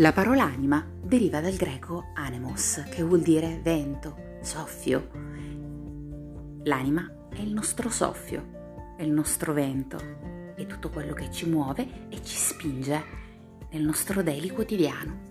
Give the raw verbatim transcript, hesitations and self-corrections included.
La parola anima deriva dal greco anemos, che vuol dire vento, soffio. L'anima è il nostro soffio, è il nostro vento, è tutto quello che ci muove e ci spinge nel nostro daily quotidiano.